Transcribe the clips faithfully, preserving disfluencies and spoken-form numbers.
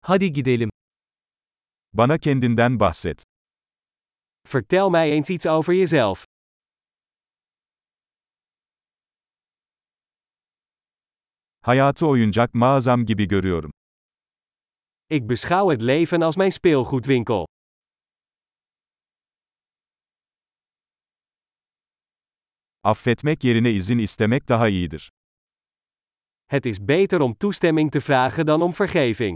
Hadi gidelim. Bana kendinden bahset. Vertel mij eens iets over jezelf. Hayatı oyuncak mağazam gibi görüyorum. Ik beschouw het leven als mijn speelgoedwinkel. Affetmek yerine izin istemek daha iyidir. Het is beter om toestemming te vragen dan om vergeving.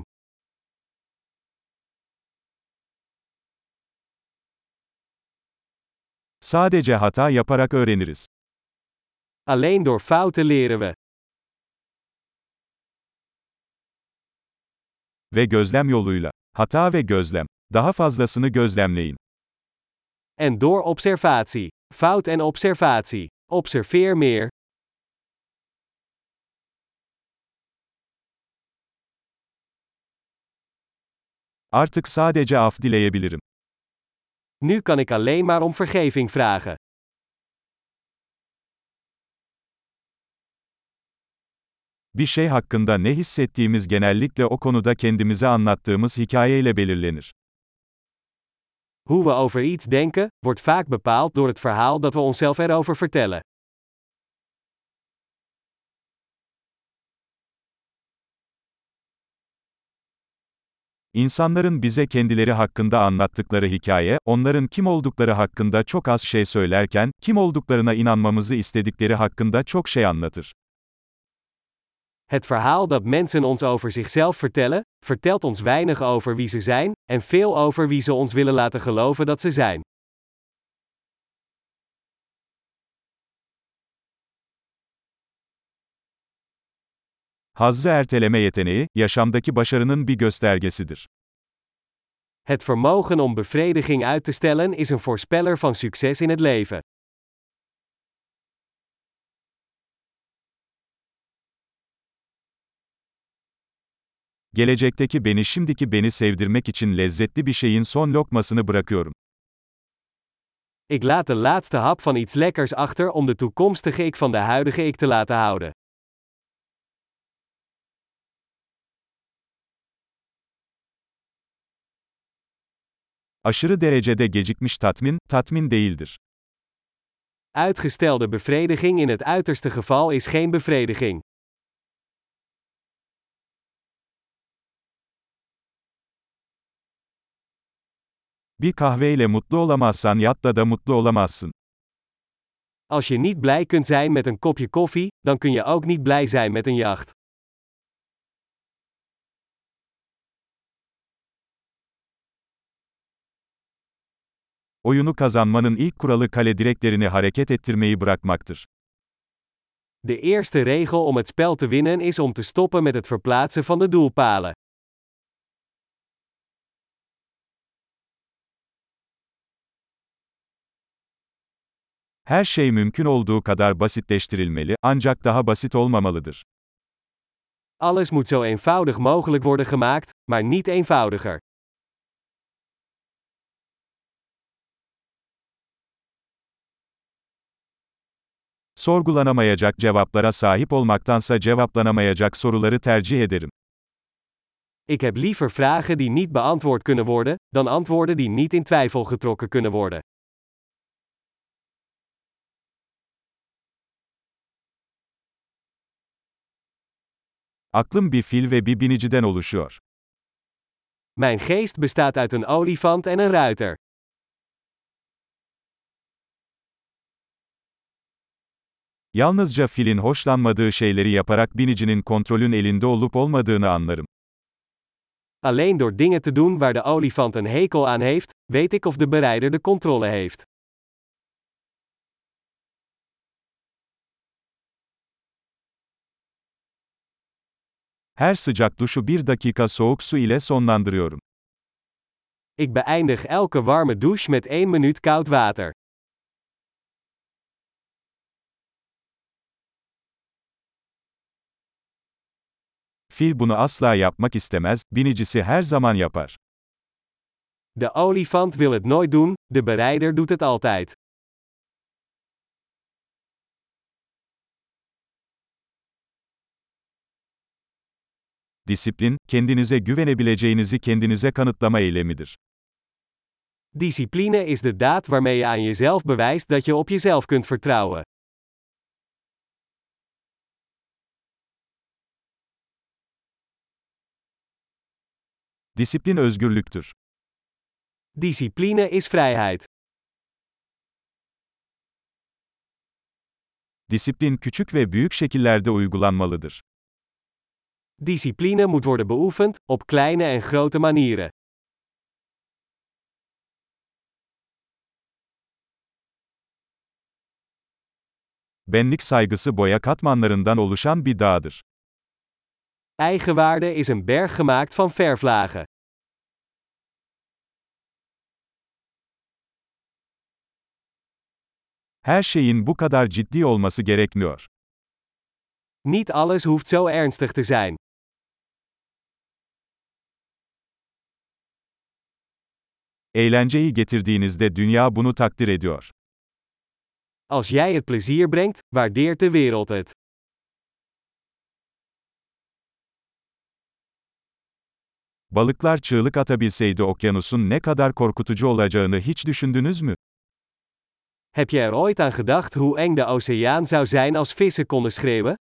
Sadece hata yaparak öğreniriz. Alleen door fouten leren we. Ve gözlem yoluyla. Hata ve gözlem. Daha fazlasını gözlemleyin. En door observatie. Fout en observatie. Observeer meer. Artık sadece af dileyebilirim. Nu kan ik alleen maar om vergeving vragen. Bir şey hakkında ne hissettiğimiz genellikle o konuda kendimize anlattığımız hikayeyle belirlenir. Hoe we over iets denken, wordt vaak bepaald door het verhaal dat we onszelf erover vertellen. İnsanların bize kendileri hakkında anlattıkları hikaye, onların kim oldukları hakkında çok az şey söylerken, kim olduklarına inanmamızı istedikleri hakkında çok şey anlatır. Het verhaal dat mensen ons over zichzelf vertellen, vertelt ons weinig over wie ze zijn, en veel over wie ze ons willen laten geloven dat ze zijn. Hazzı erteleme yeteneği, yaşamdaki başarının bir göstergesidir. Het vermogen om bevrediging uit te stellen is een voorspeller van succes in het leven. Gelecekteki beni şimdiki beni sevdirmek için lezzetli bir şeyin son lokmasını bırakıyorum. Ik laat de laatste hap van iets lekkers achter om de toekomstige ik van de huidige ik te laten houden. Aşırı derecede gecikmiş tatmin, tatmin değildir. Uitgestelde bevrediging in het uiterste geval is geen bevrediging. Bir kahveyle mutlu olamazsan yatla da mutlu olamazsın. Als je niet blij kunt zijn met een kopje koffie, dan kun je ook niet blij zijn met een jacht. Oyunu kazanmanın ilk kuralı kale direklerini hareket ettirmeyi bırakmaktır. De eerste regel om het spel te winnen is om te stoppen met het verplaatsen van de doelpalen. Her şey mümkün olduğu kadar basitleştirilmeli, ancak daha basit olmamalıdır. Alles moet zo eenvoudig mogelijk worden gemaakt, maar niet eenvoudiger. Sorgulanamayacak cevaplara sahip olmaktansa cevaplanamayacak soruları tercih ederim. Ik heb liever vragen die niet beantwoord kunnen worden, dan antwoorden die niet in twijfel getrokken kunnen worden. Aklım bir fil ve bir biniciden oluşuyor. Mijn geest bestaat uit een olifant en een ruiter. Yalnızca filin hoşlanmadığı şeyleri yaparak binicinin kontrolün elinde olup olmadığını anlarım. Alleen door dingen te doen waar de olifant een hekel aan heeft, weet ik of de berijder de controle heeft. Her sıcak duşu bir dakika soğuk su ile sonlandırıyorum. Ik beëindig elke warme douche met één minuut koud water. Fil bunu asla yapmak istemez, binicisi her zaman yapar. De olifant wil het nooit doen, de berijder doet het altijd. Disiplin, kendinize güvenebileceğinizi kendinize kanıtlama eylemidir. Discipline is de daad waarmee je aan jezelf bewijst dat je op jezelf kunt vertrouwen. Disiplin özgürlüktür. Discipline is vrijheid. Disiplin küçük ve büyük şekillerde uygulanmalıdır. Discipline moet worden beoefend, op kleine en grote manieren. Benlik saygısı boya katmanlarından oluşan bir dağdır. Eigenwaarde is een berg gemaakt van verflagen. Her şeyin bu kadar ciddi olması gerekmiyor. Niet alles hoeft zo ernstig te zijn. Eğlenceyi getirdiğinizde dünya bunu takdir ediyor. Als jij het plezier brengt, waardeert de wereld het. Balıklar çığlık atabilseydi okyanusun ne kadar korkutucu olacağını hiç düşündünüz mü? Heb je er ooit aan gedacht hoe eng de oceaan zou zijn als vissen konden schreeuwen?